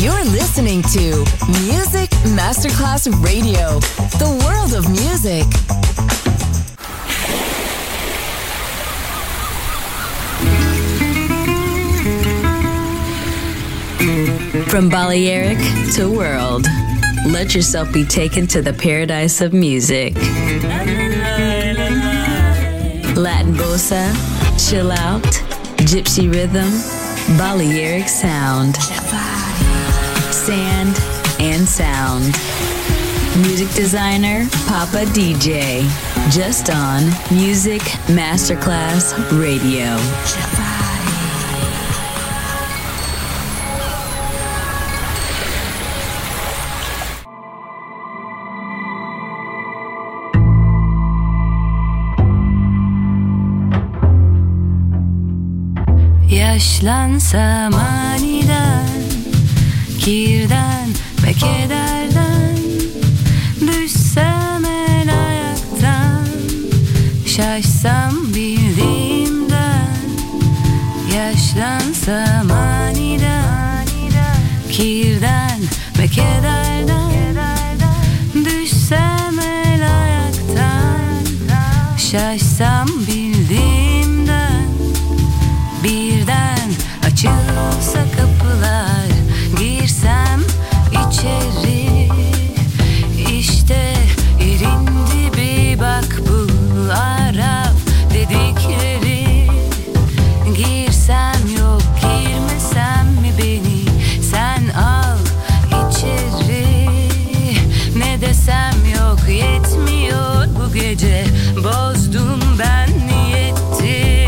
You're listening to Music Masterclass Radio, the world of music. From Balearic to world, let yourself be taken to the paradise of music. Latin bossa, chill out, gypsy rhythm, Balearic sound, sand and sound. Music designer, Papa DJ, just on Music Masterclass Radio. Yaşlansam aniden, kirden ve kederden, düşsem el ayaktan, şaşsam bildiğimden. Yaşlansam aniden, kirden ve kederden, düşsem el ayaktan, şaşsam bildiğimden. Birden açılsa kapılar, girsem içeri, işte yerin dibi, bak bu Arap dedikleri. Girsem yok, girmesem mi beni sen al içeri. Ne desem yok, yetmiyor bu gece, bozdum ben niyetimi.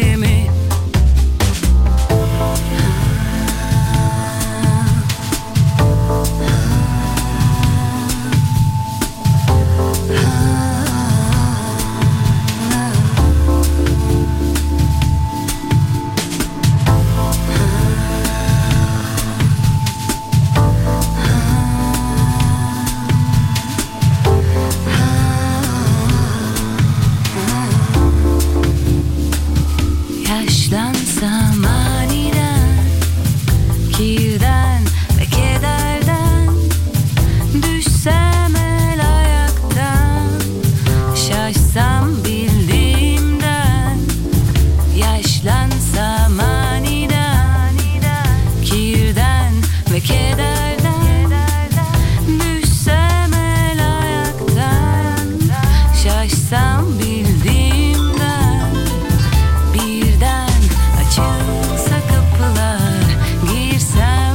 Yaşlansam aniden, kirden ve kederden, düşsem el ayaktan, şaşsam bildiğimden. Yaşlansam aniden, kirden ve kederden, düşsem el ayaktan, şaşsam bildiğimden. Birden açılsa kapılar, girsem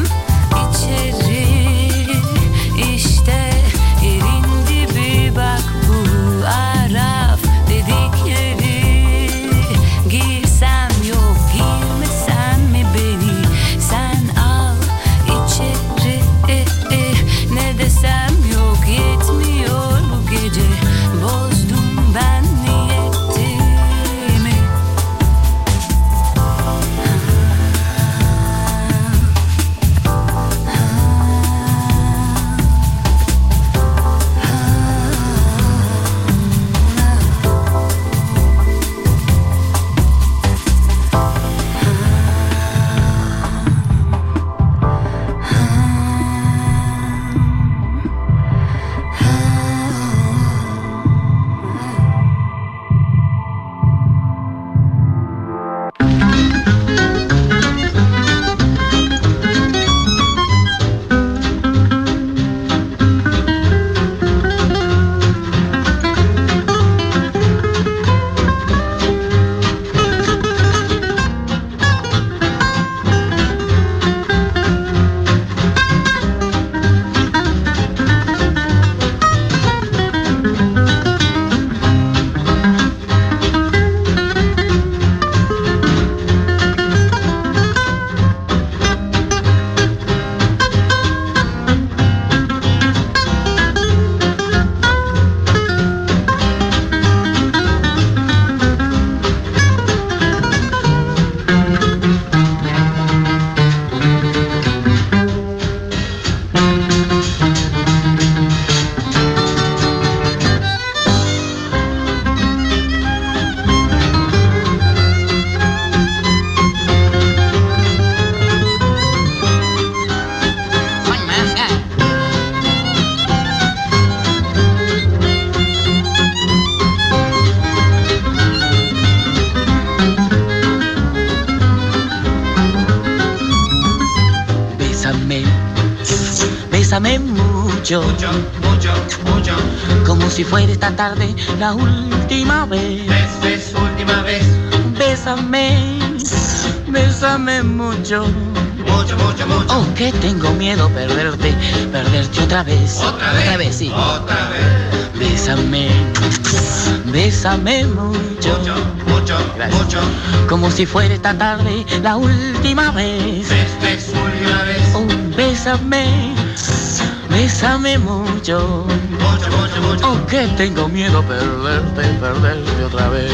Bésame, bésame mucho, mucho, mucho, mucho. como si fuera esta tarde la última vez. Última vez. Bésame, bésame mucho. Mucho, mucho, mucho. Oh, que tengo miedo perderte otra vez. ¿Otra vez? Sí. Otra vez. Bésame, bésame mucho. Mucho, mucho, Gracias. mucho. Como si fuera esta tarde la última vez. Última vez. Oh, bésame, bésame mucho. Mucho, mucho, mucho. Oh, que tengo miedo perderte otra vez.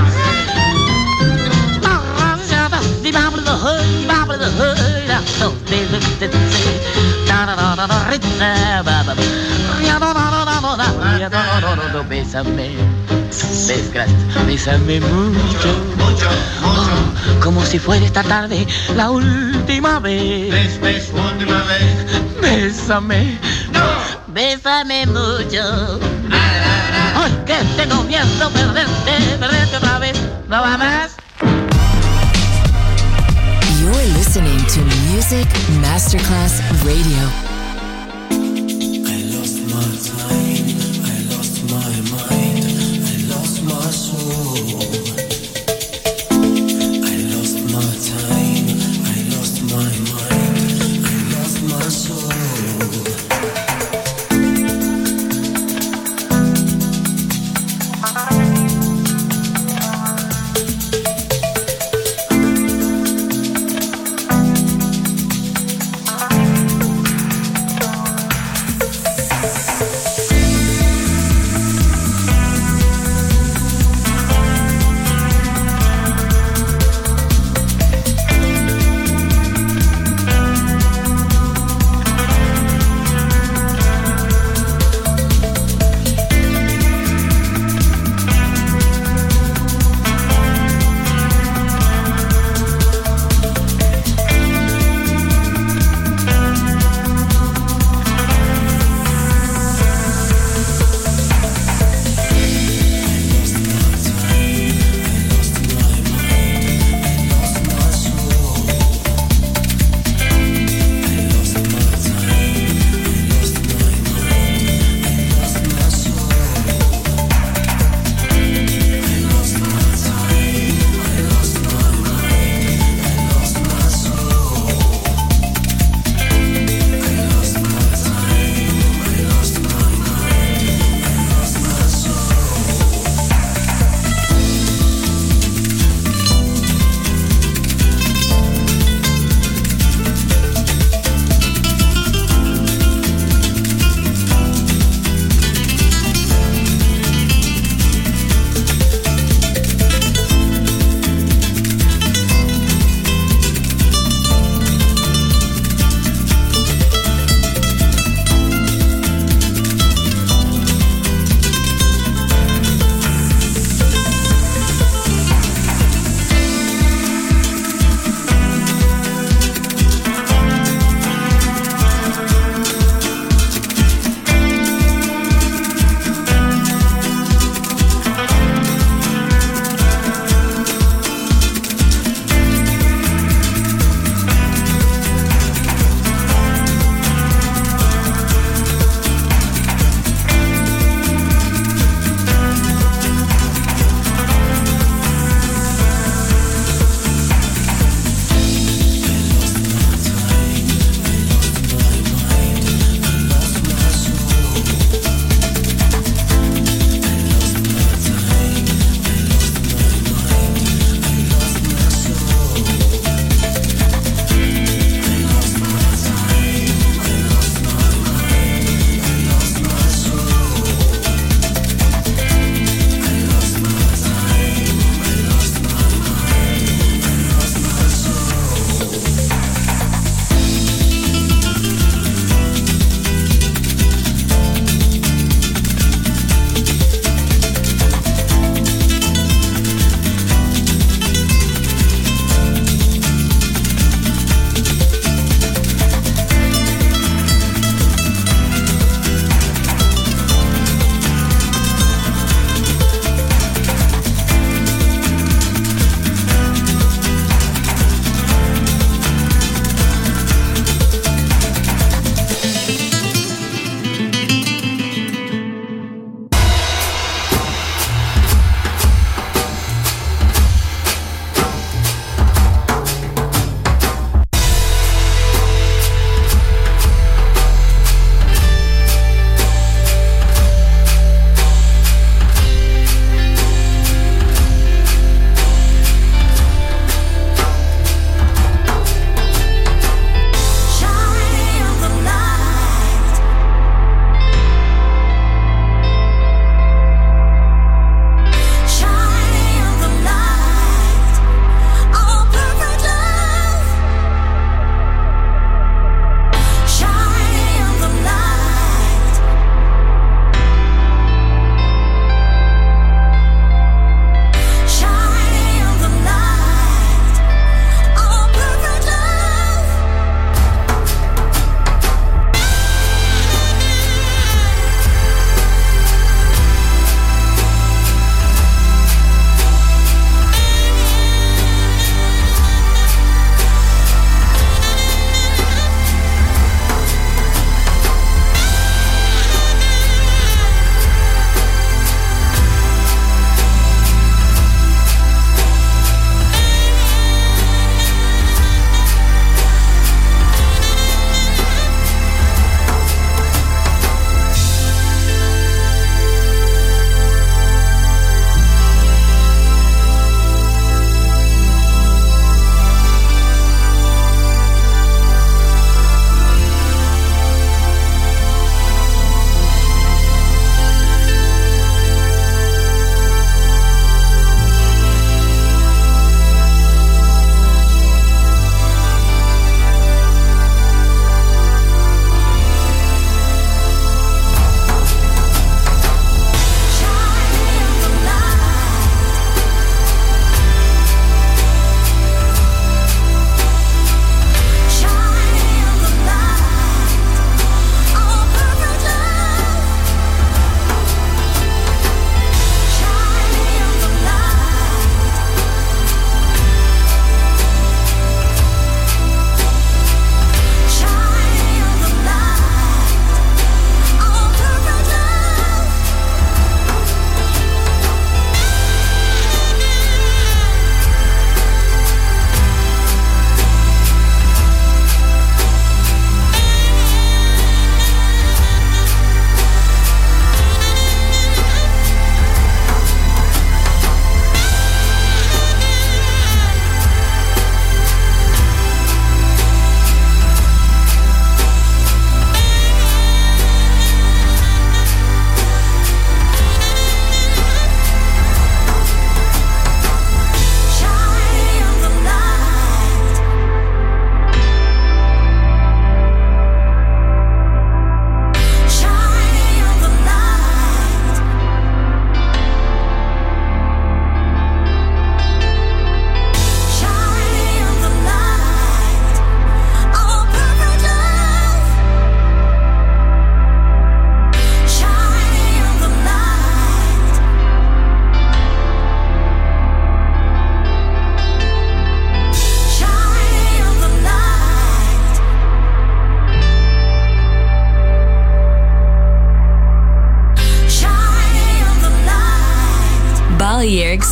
Bésame, gracias, bésame mucho, Mucho, mucho. como si fuera esta tarde la última vez. Última vez. Bésame, No. bésame mucho. Ay, que tengo miedo perderte otra vez. ¿No va más? You're listening to Music Masterclass Radio. I lost my time, I lost my mind, I lost my soul. I lost my time, I lost my mind, I lost my soul.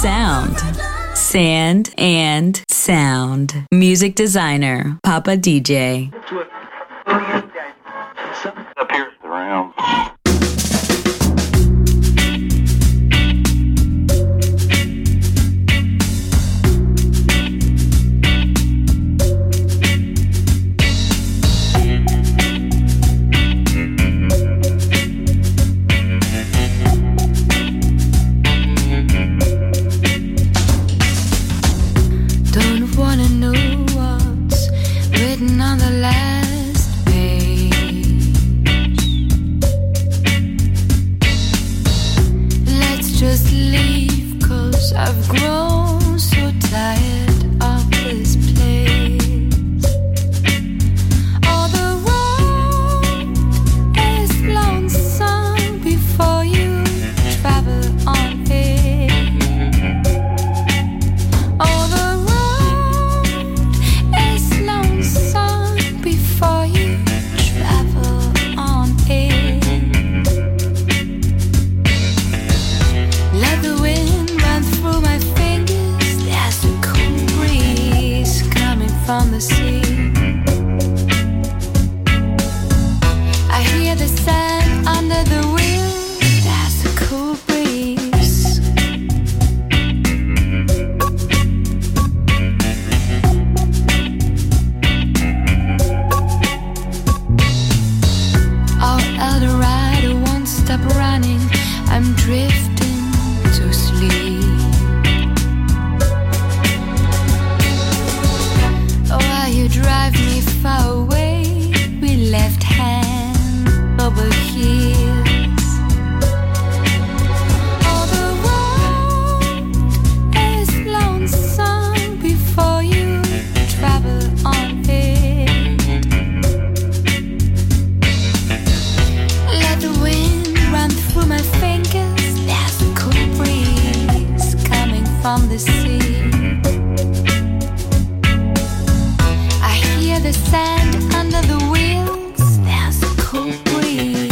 sound. Sand and Sound. Music designer, Papa DJ. Appears around. On the last page, let's just leave, 'cause I've grown so tired of this place. All the road is lonesome before you travel on it. All the before you travel on it. Let the wind run through my fingers. There's a cool breeze coming from the sea. I hear the sand under the wheels. There's a cool breeze. Eldorado won't stop running. I'm drifting to sleep. While you drive me far away, we left hand over heels. All the road is lonesome before you travel on it. Let the wind run through my fingers. There's a cool breeze coming from the sea. I hear the sand under the wheels. There's a cool breeze.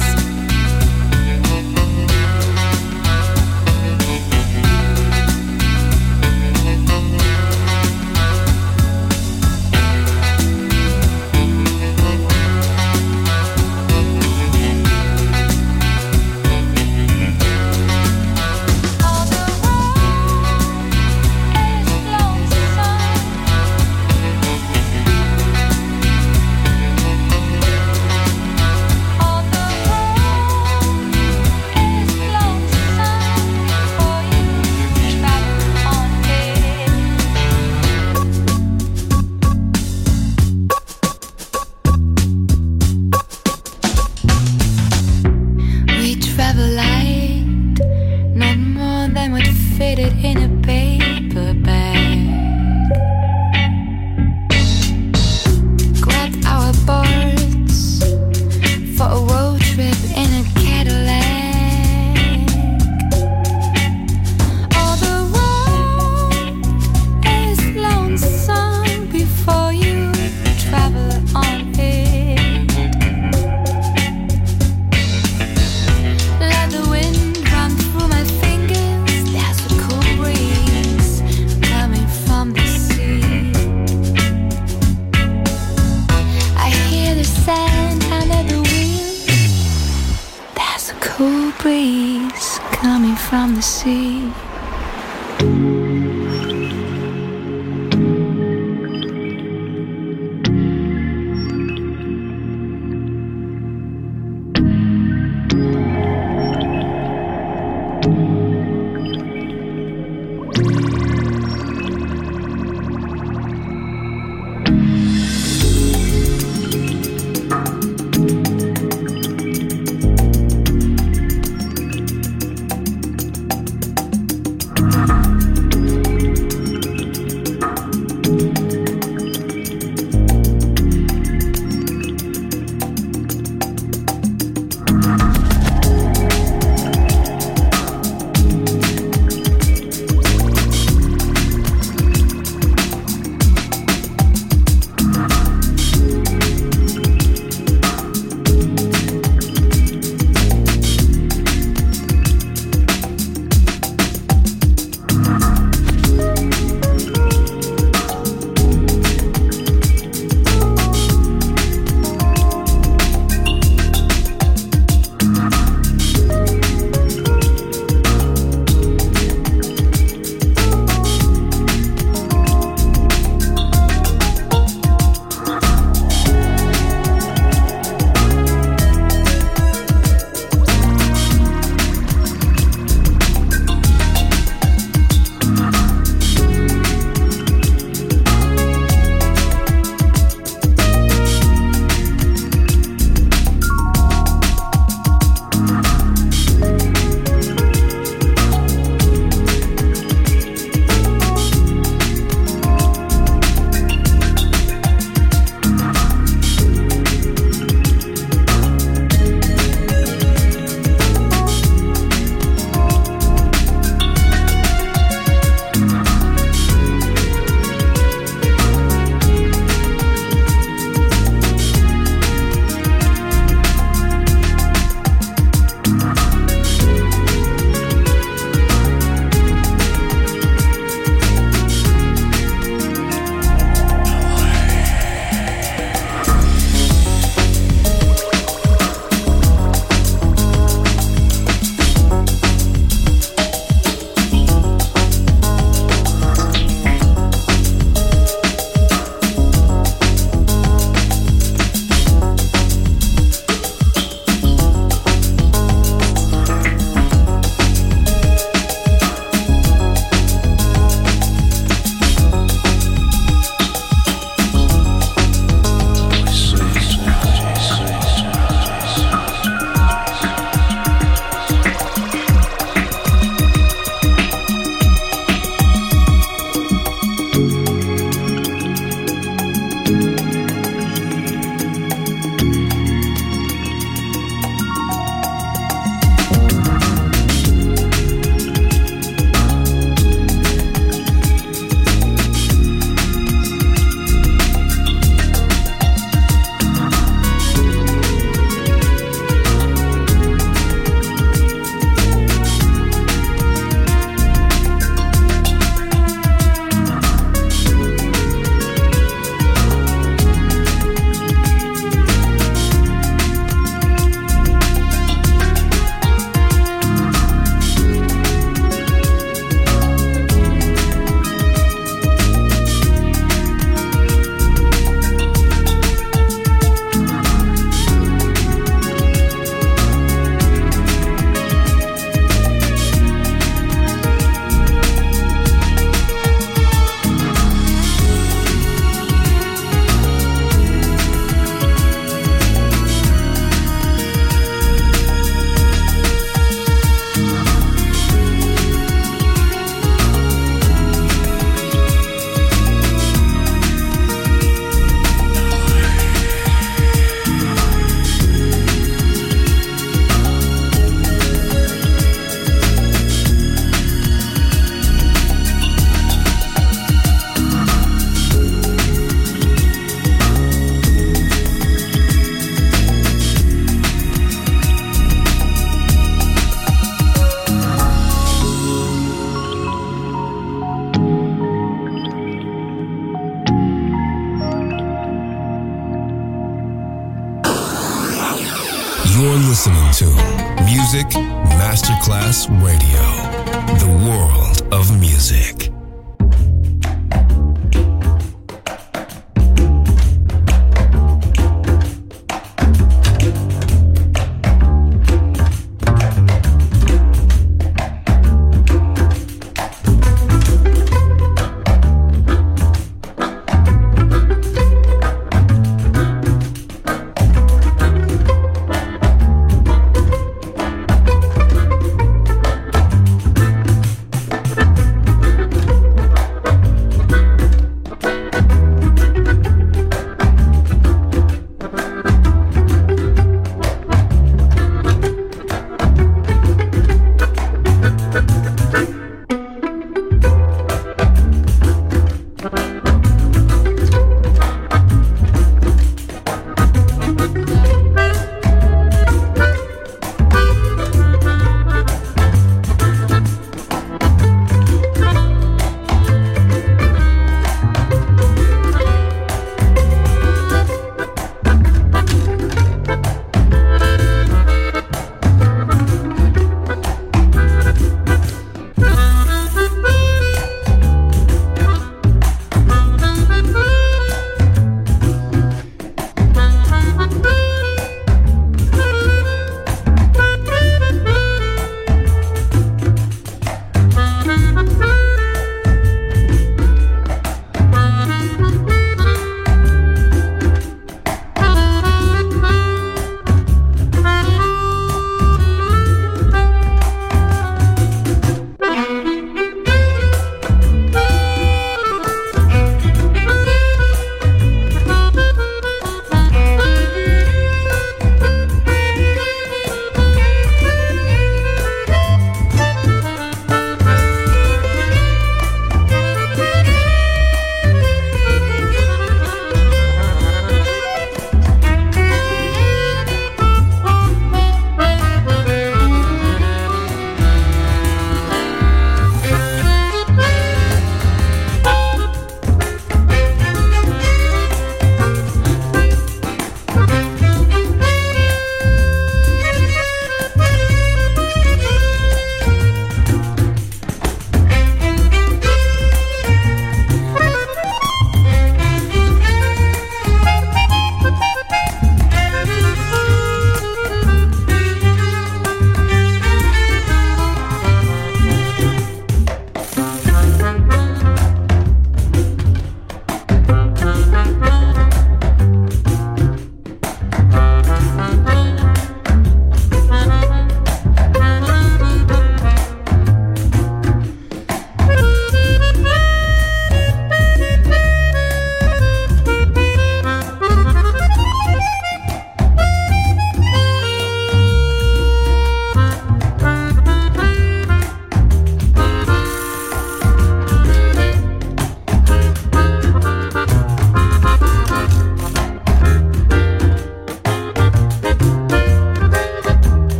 In a paper bag, grabbed our boards for a road trip in a Cadillac. All the road is lonesome before you travel on it. Let the wind run through my fingers. From the sea, I hear the sand under the wheels. There's a cool breeze coming from the sea. You're listening to Music Masterclass Radio, the world of music.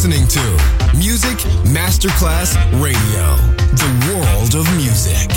listening to Music Masterclass Radio, the world of music.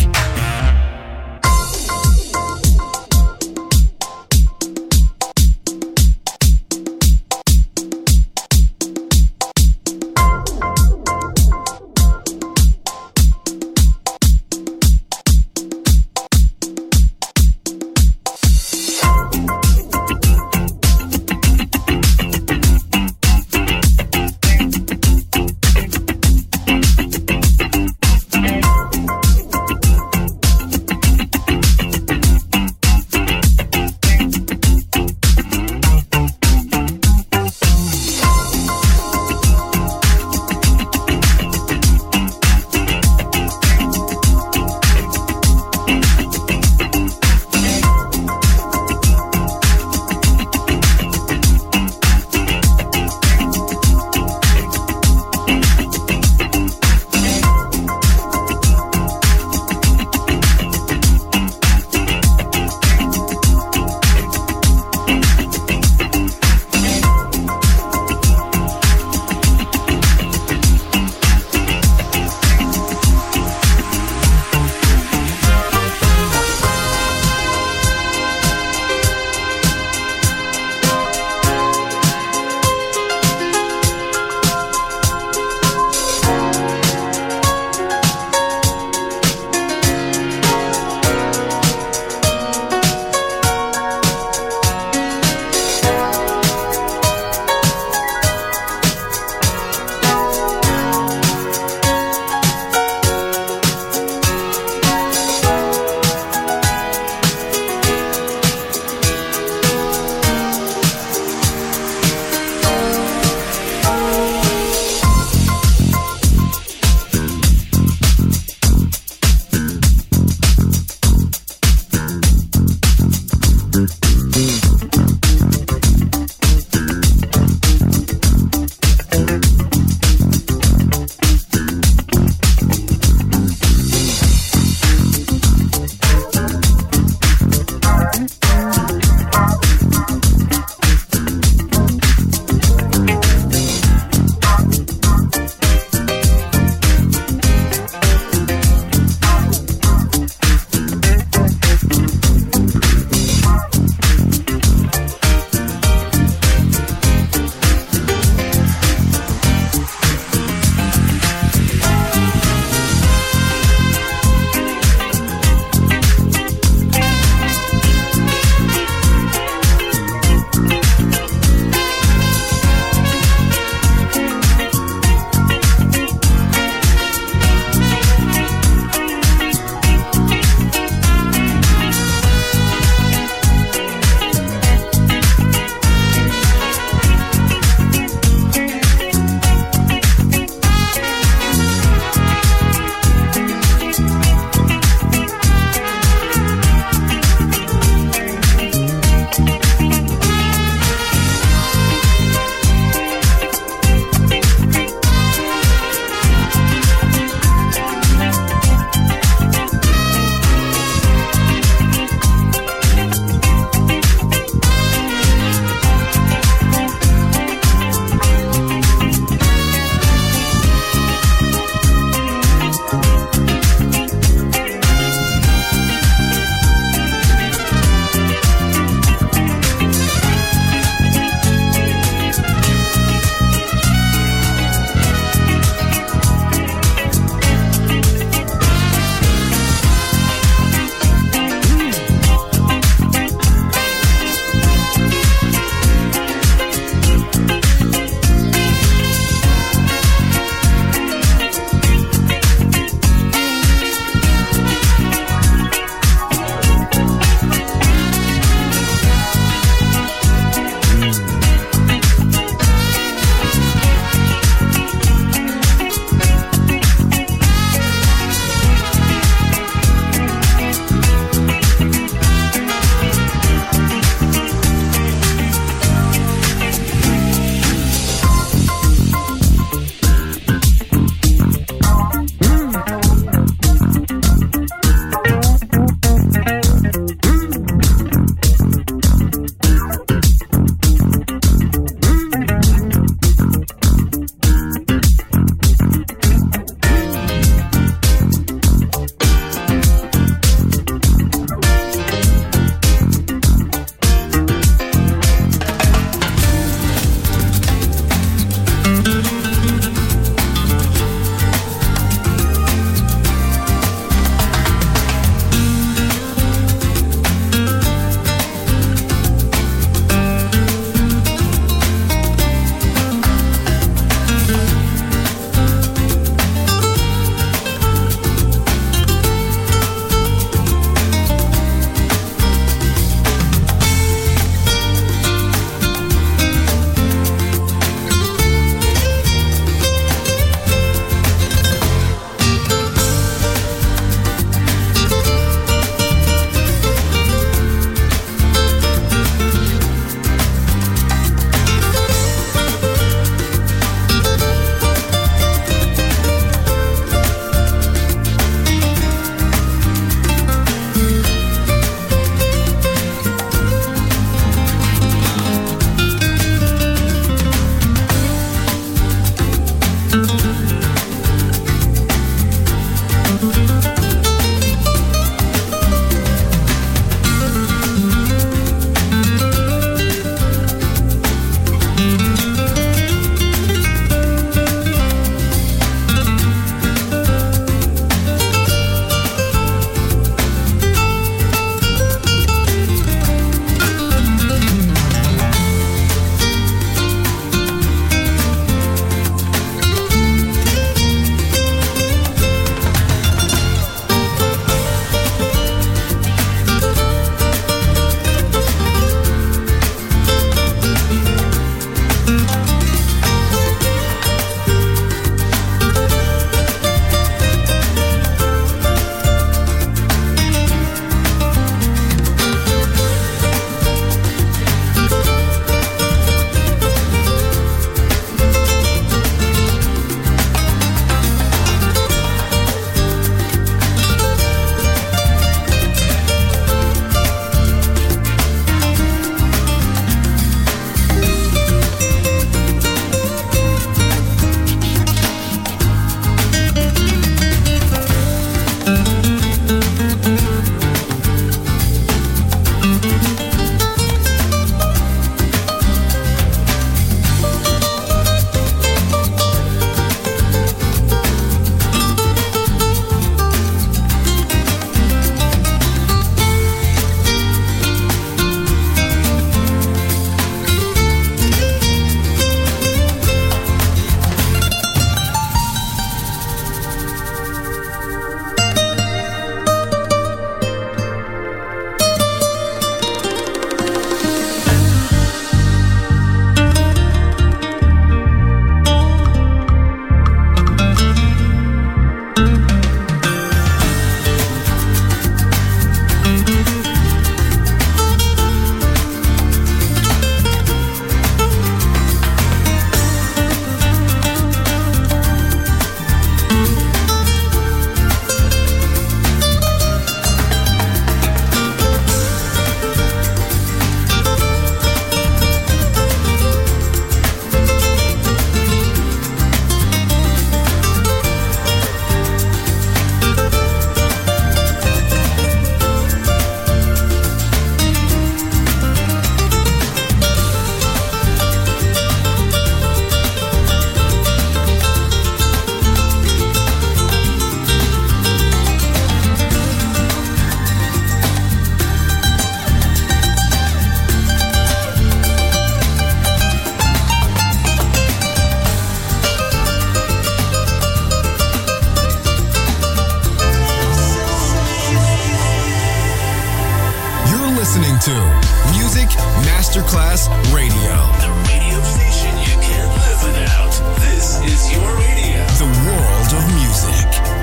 Masterclass Radio. The radio station you can't live without. This is your radio. The world of music.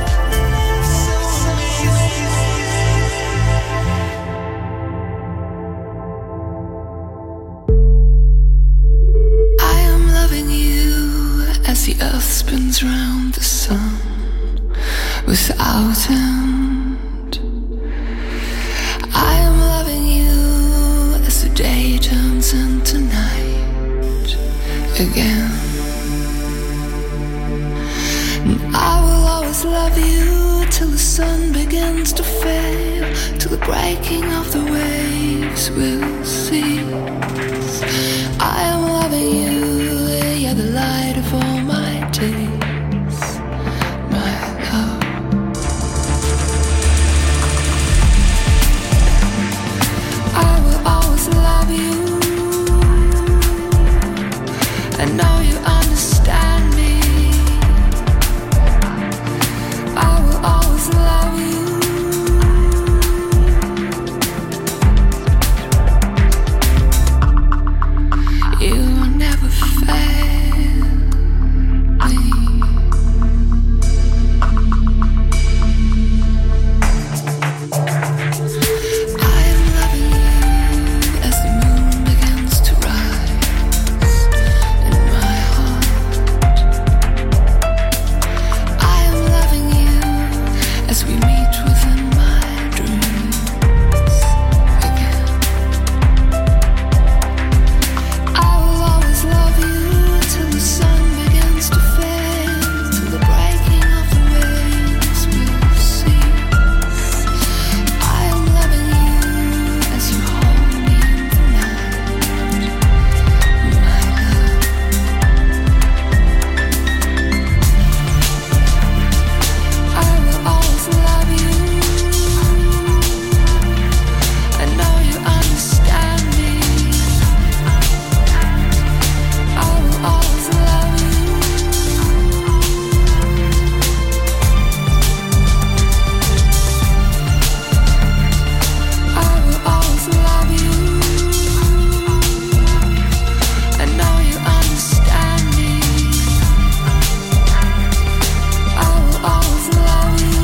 I am loving you as the earth spins round the sun without end. I am loving you as the day turns into night again. And I will always love you till the sun begins to fail, till the breaking of the waves will cease. I am loving you, you're the light of all my days, my love. I will always love you. I know you understand me. I will always love you. You will never fail me. I am loving you as the moon begins to rise in my heart. I am loving you as we meet within my dreams again. I will always love you till the sun begins to fade, till the breaking of the waves will cease. I am loving you as you hold me in the night, my love. I will always love you. I know you understand me. I will always love you. I will always love you. I know you understand me. I will always love you.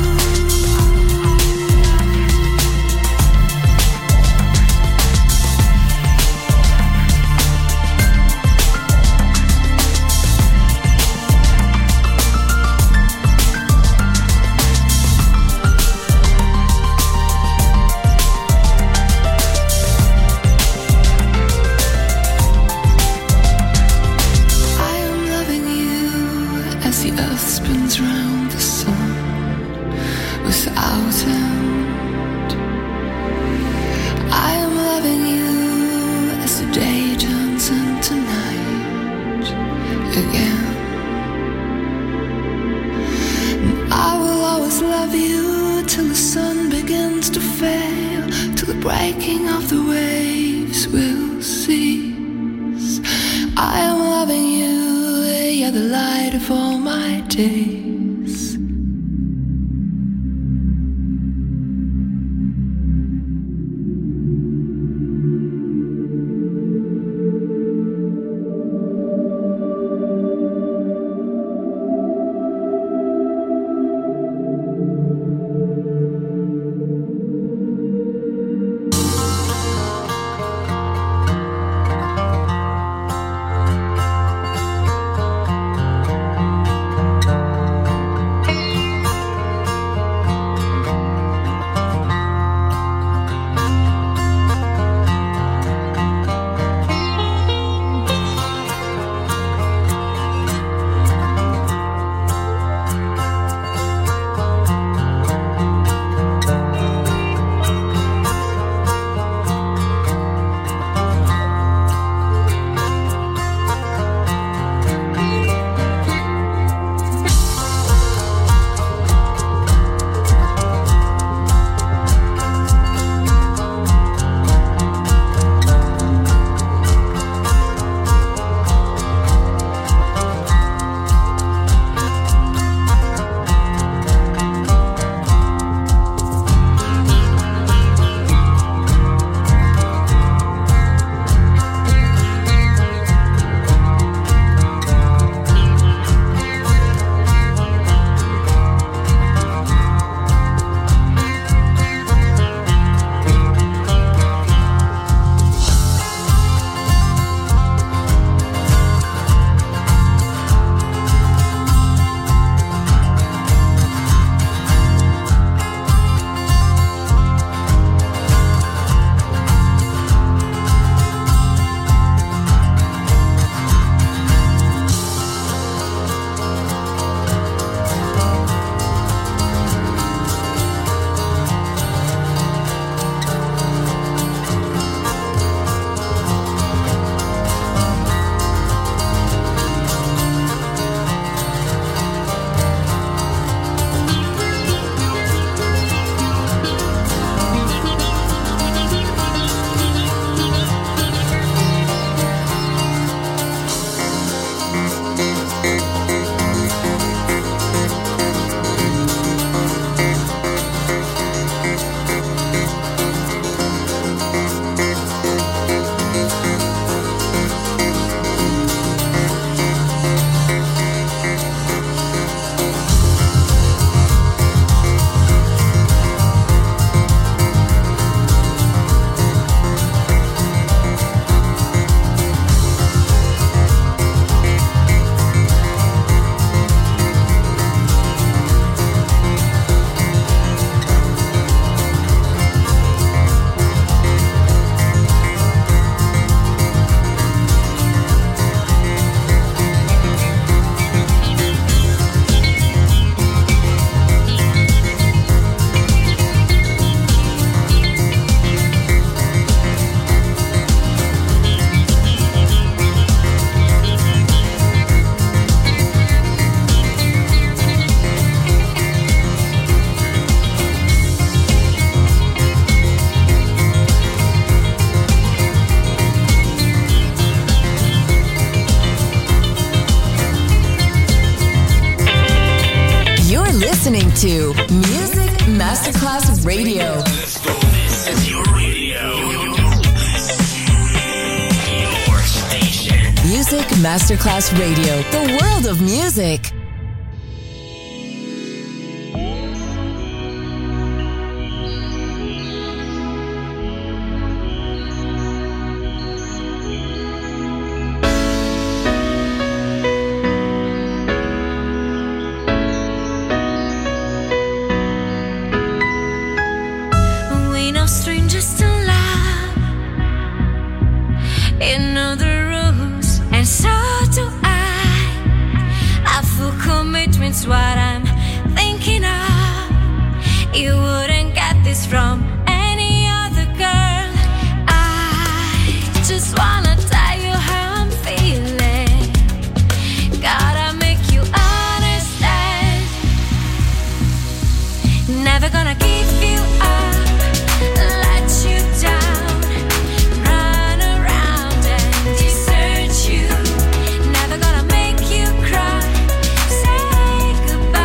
I am loving you as the earth spins round the sun without end. I am loving you as the day turns into night again. And I will always love you till the sun begins to fail, till the breaking of the waves will cease. I am loving you, you're the light of all my days. listening to Music Masterclass Radio. Let's go. This is your radio. Your station. Music Masterclass Radio. The world of music. What I'm thinking of, you wouldn't get this from any other girl. I just wanna tell you how I'm feeling. Gotta make you understand. Never gonna give you up, let you down, run around and desert you. Never gonna make you cry. Goodbye.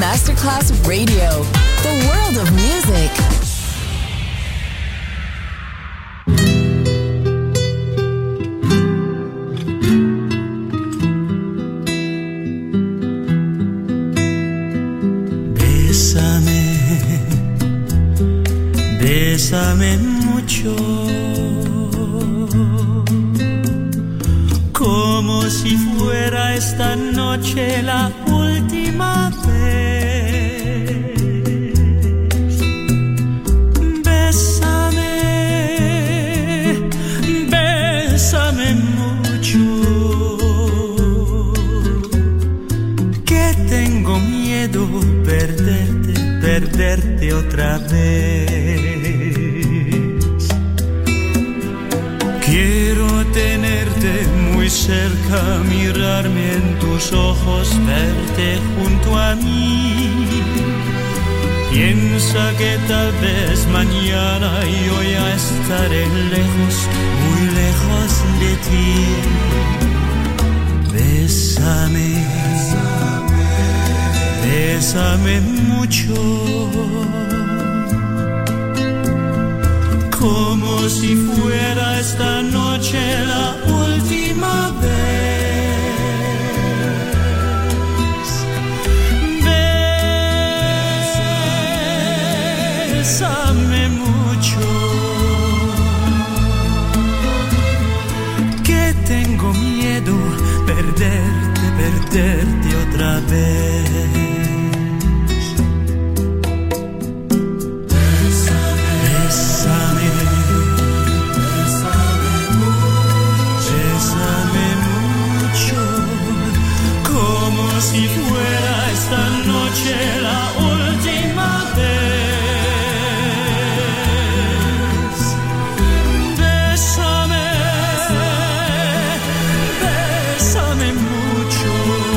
Masterclass Radio, the world of music. Bésame mucho, como si fuera esta noche la última vez. Bésame, bésame mucho, que tengo miedo perderte otra vez. Quiero tenerte muy cerca, mirarme en tus ojos, verte junto a mí. Piensa que tal vez mañana yo ya estaré lejos, muy lejos de ti. Bésame, bésame mucho, como si fuera esta noche la última vez. Bésame mucho, que tengo miedo perderte otra vez. Si fuera esta noche la última vez. Bésame, bésame mucho,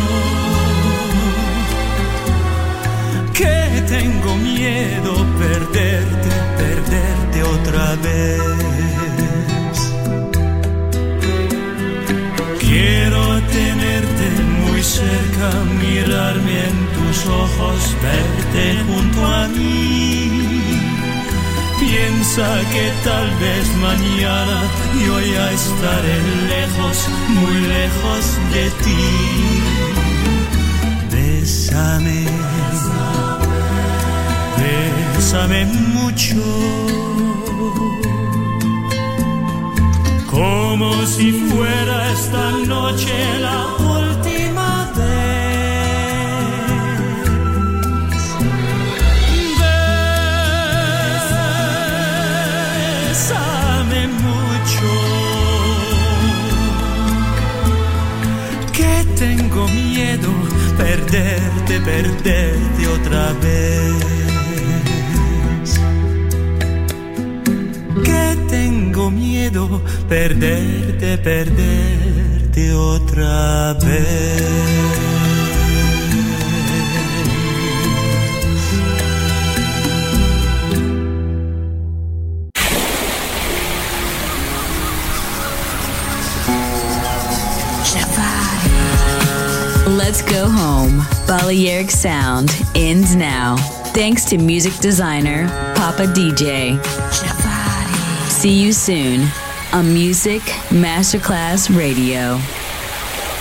que tengo miedo perderte otra vez. Quiero tenerte muy cerca, mirarme en tus ojos, verte junto a mí. Piensa que tal vez mañana yo ya estaré lejos, muy lejos de ti. Bésame, bésame mucho, como si fuera esta noche la última vez. Bésame mucho, que tengo miedo perderte otra vez. Que tengo miedo perderte otra vez. Let's go home. Balearic Sound ends now. Thanks to music designer Papa DJ. See you soon on Music Masterclass Radio.